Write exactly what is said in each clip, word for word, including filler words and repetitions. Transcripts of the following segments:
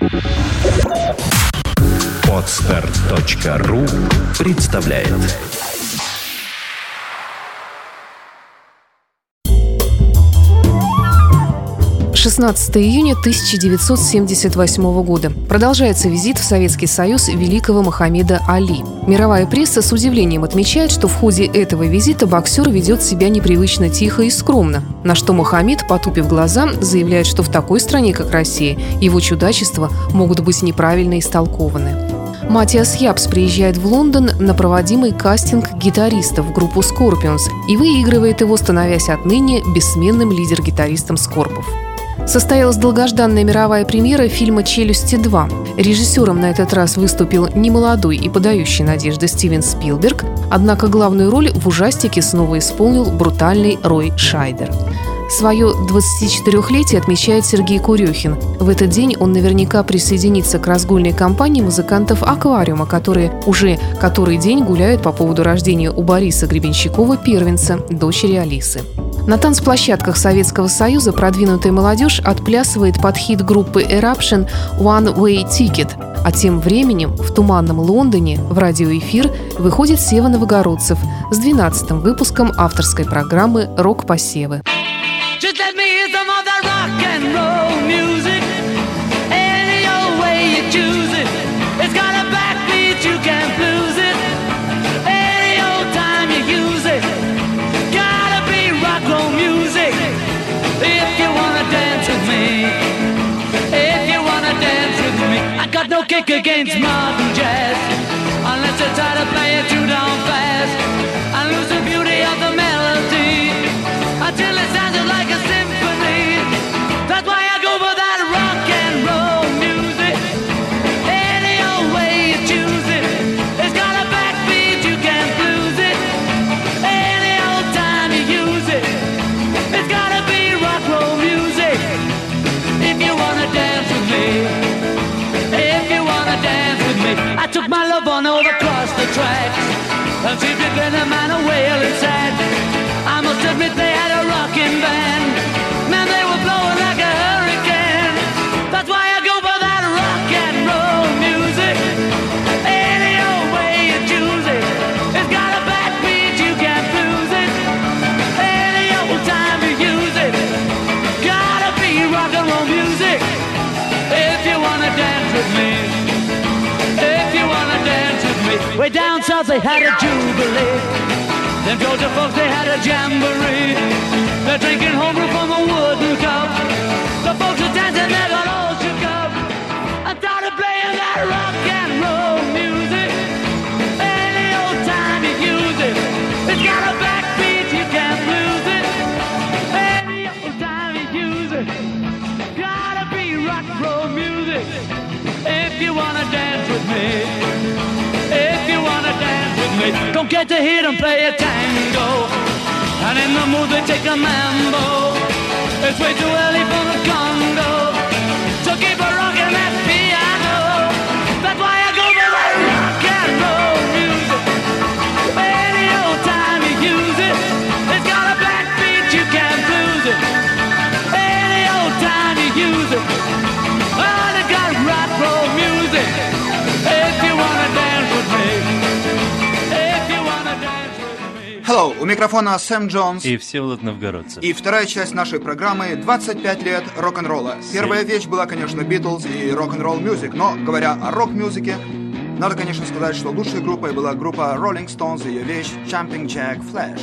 Подстар точка ру представляет. шестнадцатого июня тысяча девятьсот семьдесят восьмого года. Продолжается визит в Советский Союз великого Мухаммеда Али. Мировая пресса с удивлением отмечает, что в ходе этого визита боксер ведет себя непривычно тихо и скромно, на что Мухаммед, потупив глаза, заявляет, что в такой стране, как Россия, его чудачества могут быть неправильно истолкованы. Матиас Япс приезжает в Лондон на проводимый кастинг гитаристов в группу Scorpions и выигрывает его, становясь отныне бессменным лидер-гитаристом Скорпов. Состоялась долгожданная мировая премьера фильма «Челюсти два». Режиссером на этот раз выступил немолодой и подающий надежды Стивен Спилберг, однако главную роль в ужастике снова исполнил брутальный Рой Шайдер. Свое двадцатичетырёхлетие отмечает Сергей Курехин. В этот день он наверняка присоединится к разгульной компании музыкантов «Аквариума», которые уже который день гуляют по поводу рождения у Бориса Гребенщикова первенца, дочери Алисы. На танцплощадках Советского Союза продвинутая молодежь отплясывает под хит группы Eruption «One Way Ticket», а тем временем в туманном Лондоне в радиоэфир выходит Сева Новогородцев с двенадцатым выпуском авторской программы «Рок-посевы». Just let me hear some of that rock and roll music. Any old way you choose it. It's got a backbeat, you can't lose it. Any old time you use it. Gotta be rock roll music. If you wanna dance with me. If you wanna dance with me. I got no kick against modern jazz. Unless you try to play it too down fast. I lose the beauty of the melody. Until it sounded like a symphony. That's why I go for that rock and roll music. Any old way you choose it. It's got a backbeat, you can't lose it. Any old time you use it. It's gotta be rock roll music. If you wanna dance with me. If you wanna dance with me. I took my love on over across the tracks. And see if you get a man a wailing sad. I must admit they had a rockin' band. Man, they were blowing like a hurricane. That's why I go for that rock and roll music. Any old way you choose it. It's got a backbeat, you can't lose it. Any old time you use it. Gotta be rock and roll music. If you wanna dance with me. If you wanna dance with me. Way down south they had a jubilee. Them Georgia folks, they had a jamboree. They're drinking homebrew from a wooden cup. The folks are dancing, they got all shook up. I started playing that rock and roll music. Any old time you use it. It's got a backbeat, you can't lose it. Any old time you use it. Gotta be rock and roll music. If you wanna dance with me. If you wanna dance with me. Don't get to hear them play a tango. And in the mood they take a mambo. It's way too early for the Congo. So keep a rockin' that piano. That's why I go for that rock and roll music. Any old time you use it. It's got a backbeat, you can't lose it. Any old time you use it. Oh, it got rock roll music. If you wanna dance with me. Hello, у микрофона Сэм Джонс и Всеволод Новгородцев. И вторая часть нашей программы «двадцать пять лет рок-н-ролла». Первая вещь была, конечно, Beatles и рок-н-ролл мюзик, но, говоря о рок-мюзике, надо, конечно, сказать, что лучшей группой была группа Rolling Stones и ее вещь Jumping Jack Flash.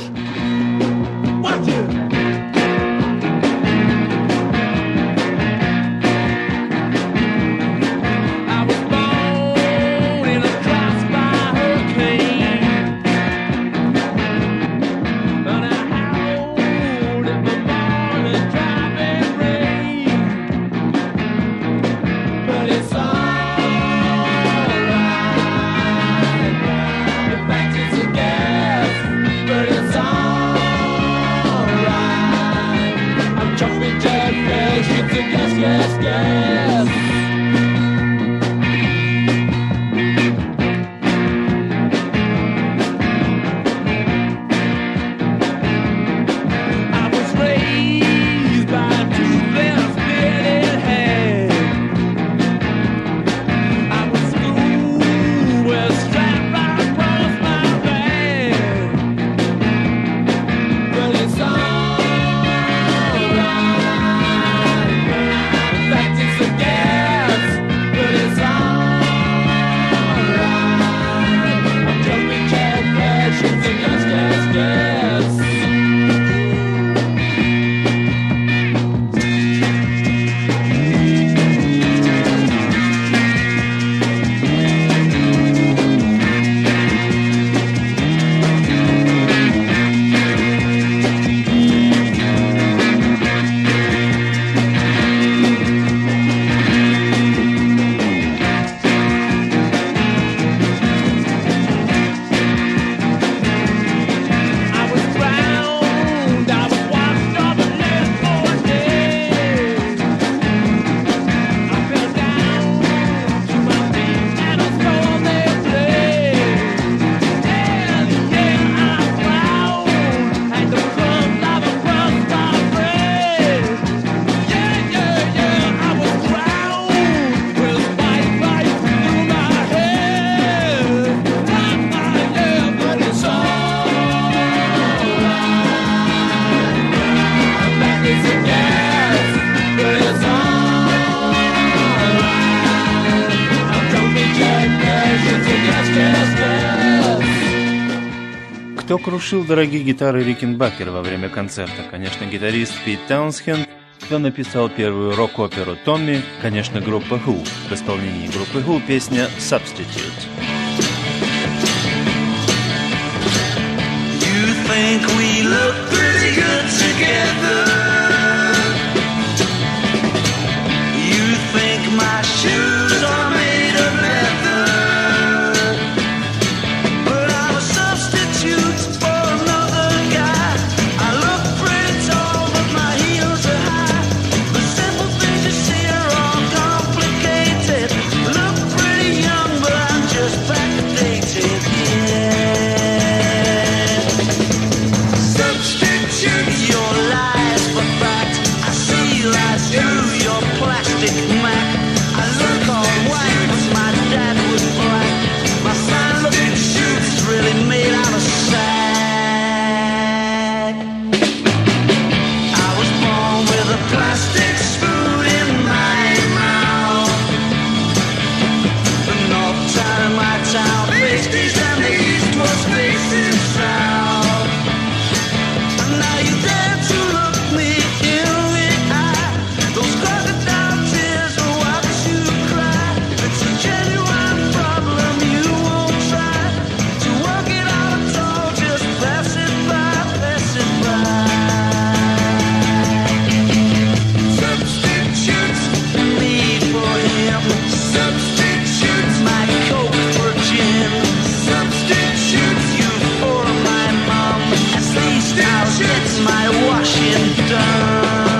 But it's alright. Кто крушил дорогие гитары Рикенбакер во время концерта? Конечно, гитарист Пит Таунсенд. Кто написал первую рок-оперу Томми? Конечно, группа Who. В исполнении группы Who песня Substitute. You think we look pretty good together? You think my shoes are made of leather? But I'm a substitute for another guy. I look pretty tall, but my heels are high. The simple things you see are all complicated. Look pretty young, but I'm just backdated, yeah. Your lies for fact, I see lies through your plastic Mac. I look all white, but my dad was black. My fine-looking shoes really made out of sack. I was born with a plastic spoon in my mouth. The north side of my town faced east and the east was facing south. Now you dare to look me in the eye. Those crocodile tears will watch you cry. It's a genuine problem, you won't try to work it out at all. Just pass it by, pass it by. Substitutes me for him. Substitutes my Coke for gin. Substitutes you for my mom. At least I'll get my washing done.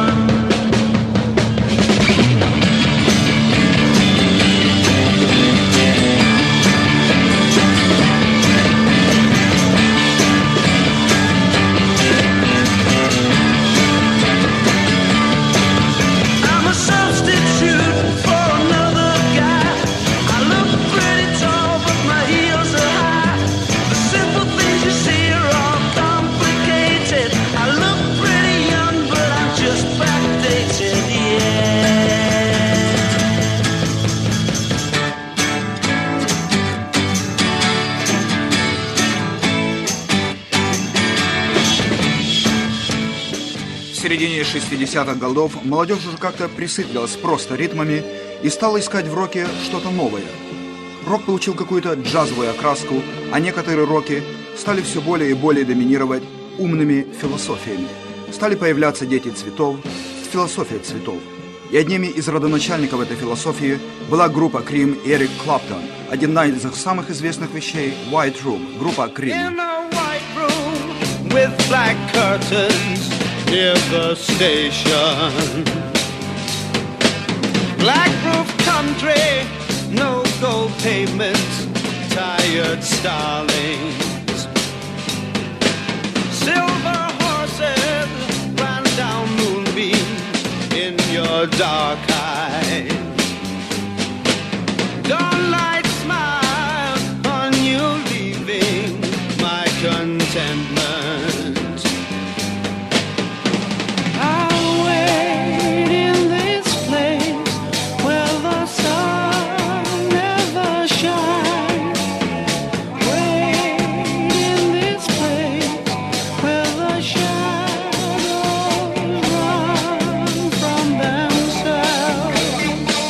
I'm a substitute for another guy. I look pretty tall, but my heels are high. The simple things you see are all complicated. I look pretty young, but I'm just backdated, yeah. В середине шестидесятых годов молодежь уже как-то присытилась просто ритмами и стала искать в роке что-то новое. Рок получил какую-то джазовую окраску, а некоторые роки стали все более и более доминировать умными философиями. Стали появляться дети цветов, философия цветов. И одними из родоначальников этой философии была группа Cream и Эрик Клэптон. Одна из их самых известных вещей – White Room, группа Cream. In a white room with black curtains near the station. Black roof country, no gold pavements, tired starlings. Silver horses ran down moonbeams in your dark eyes. Dawnlight smile on you leaving my contentment. I'll wait in this place where the sun never shines. Wait in this place where the shadows run from themselves.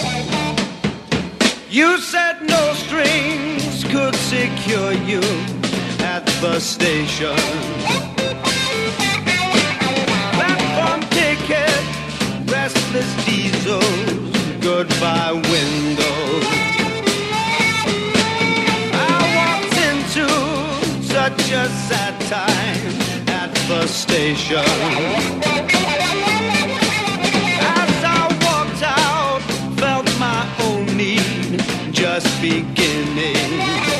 You said no strings could secure you at the station. Platform ticket, restless diesels, goodbye windows. I walked into such a sad time at the station. As I walked out, felt my own need just beginning.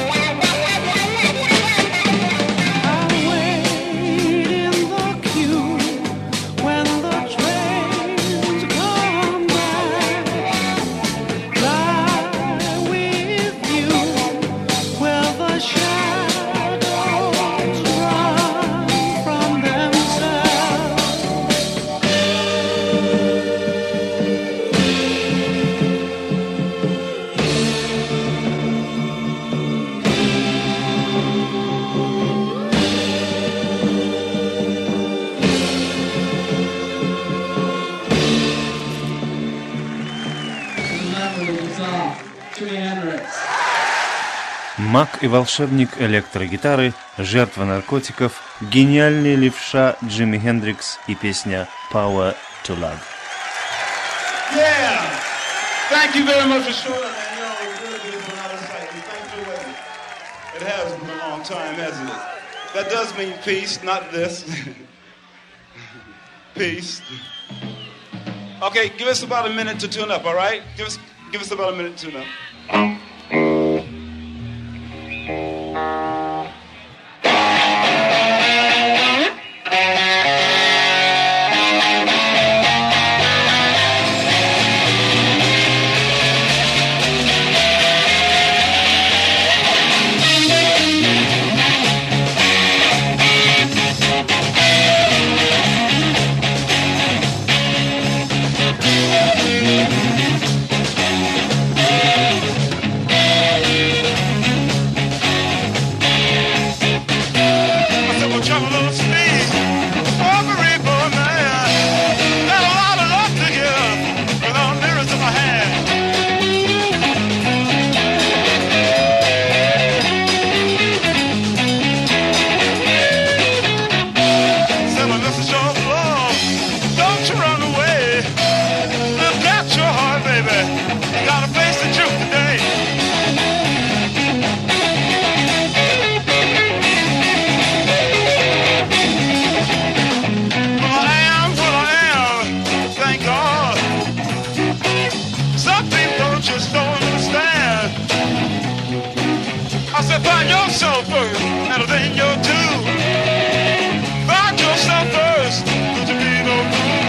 I'll wait in the queue when the trains come back. Fly with you where the shadows run from themselves. Маг и волшебник электрогитары, жертва наркотиков, гениальный левша Джимми Хендрикс и песня «Power to Love». Yeah! Thank you very much for showing up, man. You know, it was really good to out of sight. Thanks for waiting. It has been a long time, hasn't it? That does mean peace, not this. Peace. Okay, give us about a minute to tune up, all right? Give us, give us about a minute to tune up. Find yourself first, and then you'll do. Find yourself first, don't you be no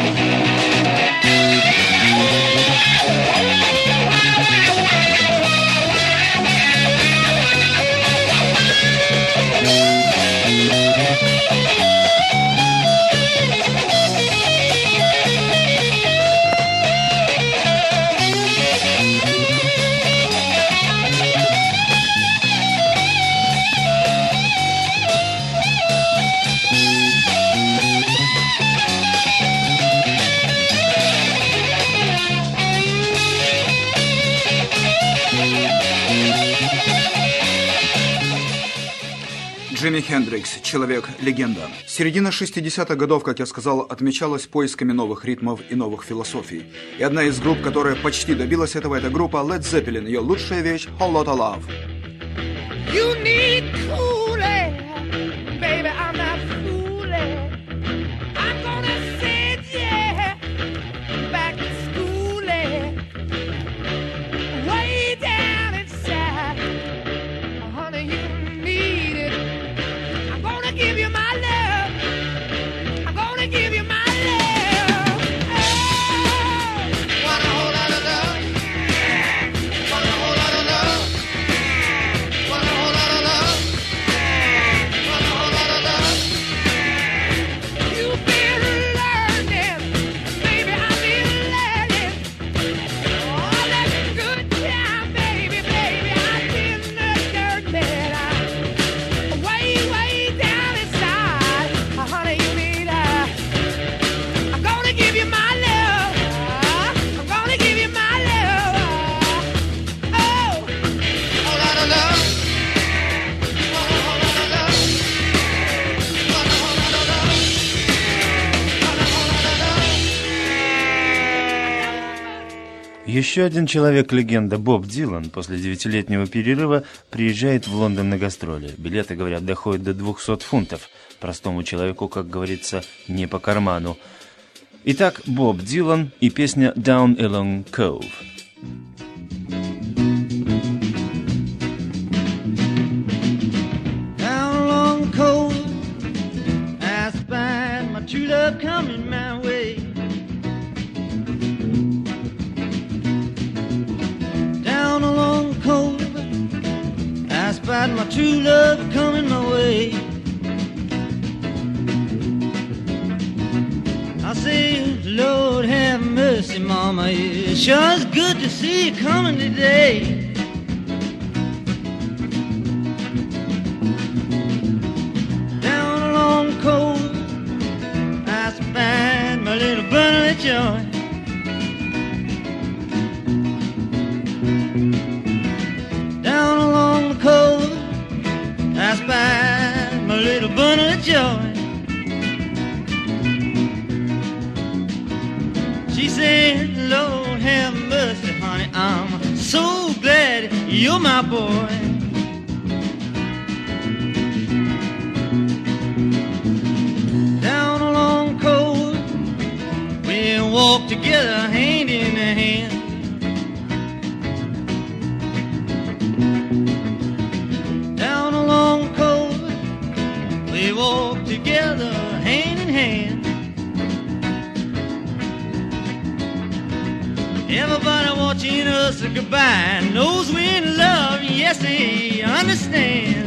Джимми Хендрикс, человек-легенда. Середина шестидесятых годов, как я сказал, отмечалась поисками новых ритмов и новых философий. И одна из групп, которая почти добилась этого, это группа Led Zeppelin. Ее лучшая вещь — Whole Lotta Love. You need cooling, baby, I'm not fooling. I'm gonna send you back to school, way down inside. Honey, you need it. I'm gonna give you my love. I'm gonna give you my love. Oh, want a whole lot of love. Want a whole lot of love. Want a whole lot of love. Want a whole lot of love. You've been learning, baby, I've been learning. All that good time, baby, baby, I've been learning. I'm way, way down inside. Honey, you need a. I'm gonna give you my love. I'm gonna give you my love. Oh, whole lot of love. Want a whole lot of love. Want a whole lot of love. Want a whole lot of love. Еще один человек-легенда Боб Дилан после девятилетнего перерыва приезжает в Лондон на гастроли. Билеты, говорят, доходят до двухсот фунтов. Простому человеку, как говорится, не по карману. Итак, Боб Дилан и песня «Down Along Cove». Down along the coast, I spied my true love coming my way. Down along the coast, I spied my true love coming my way. I say, Lord have mercy, Mama, it sure is good to see you coming today. Down along the coast, I spied my little bundle of joy. joy. She said, Lord have mercy, honey, I'm so glad you're my boy. Down along cold, we walked together hand in hand. Down along cold, we walked together hand in hand. Everybody watching us goodbye knows we're in love, yes, they understand.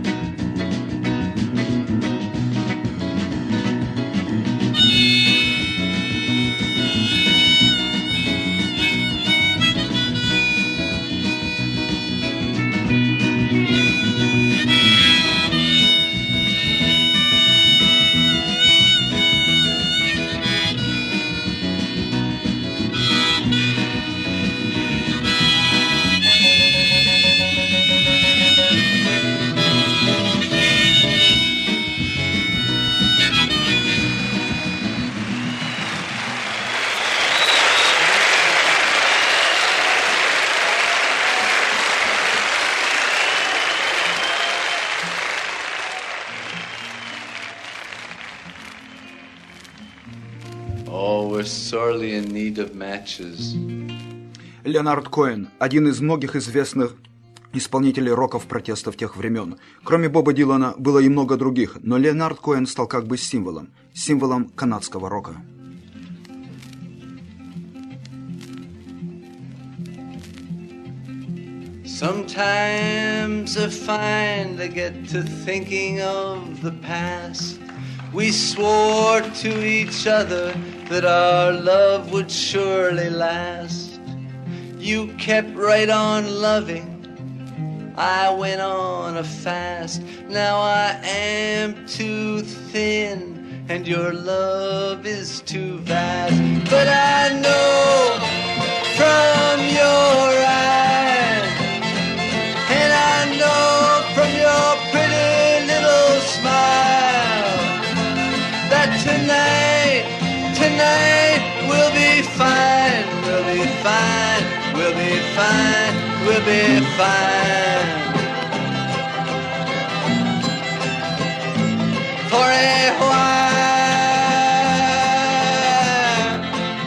Oh, we're sorely in need of matches. Леонард Коэн – один из многих известных исполнителей роков протестов тех времен. Кроме Боба Дилана было и много других, но Леонард Коэн стал как бы символом, символом канадского рока. Sometimes I find I get to thinking of the past. We swore to each other that our love would surely last. You kept right on loving, I went on a fast. Now I am too thin, and your love is too vast. But I know from your eyes, and I know from your pretty little smile, that tonight, tonight we'll be fine, we'll be fine, we'll be fine, we'll be fine. For a while,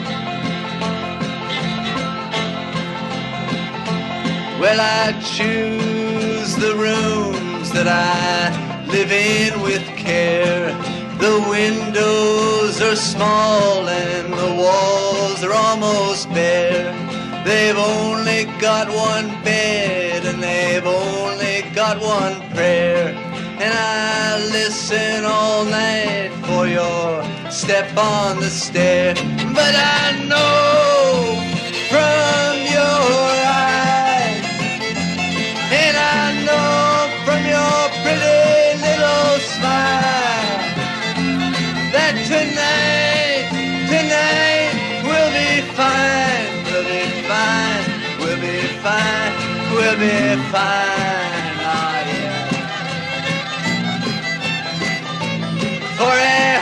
well, I choose the rooms that I live in with care. The windows are small and the walls are almost bare. They've only got one bed and they've only got one prayer. And I listen all night for your step on the stair. But I know from your eyes, and I know from your pretty little smile, that tonight, tonight we'll be fine, we'll be fine, we'll be fine, we'll be fine, oh yeah. For a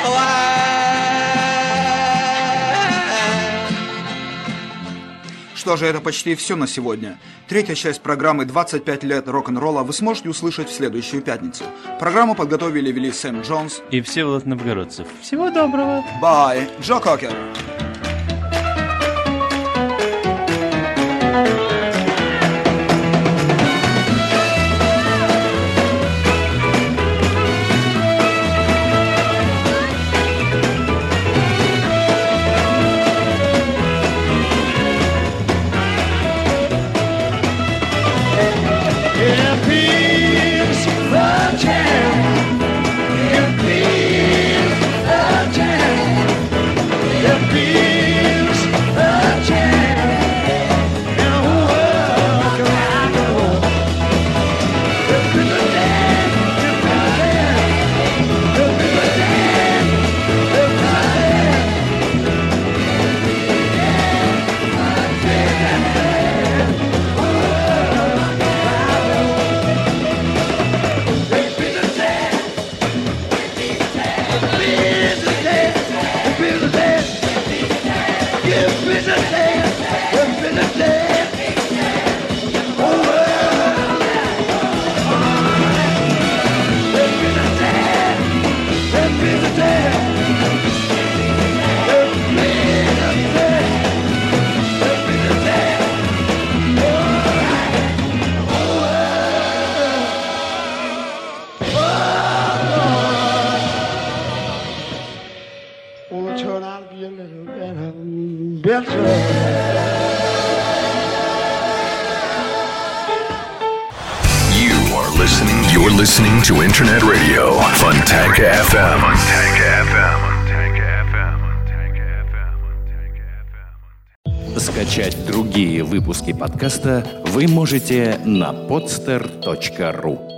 while. Что же, это почти все на сегодня. Третья часть программы «двадцать пять лет рок-н-ролла» вы сможете услышать в следующую пятницу. Программу подготовили и вели Сэм Джонс и Всеволод Новгородцев. Всего доброго! Бай! Джо Кокер! Be turn out to be a little better, better. Listening, you're listening to Internet Radio Fontanka эф эм. Скачать другие выпуски подкаста вы можете на podster точка ru.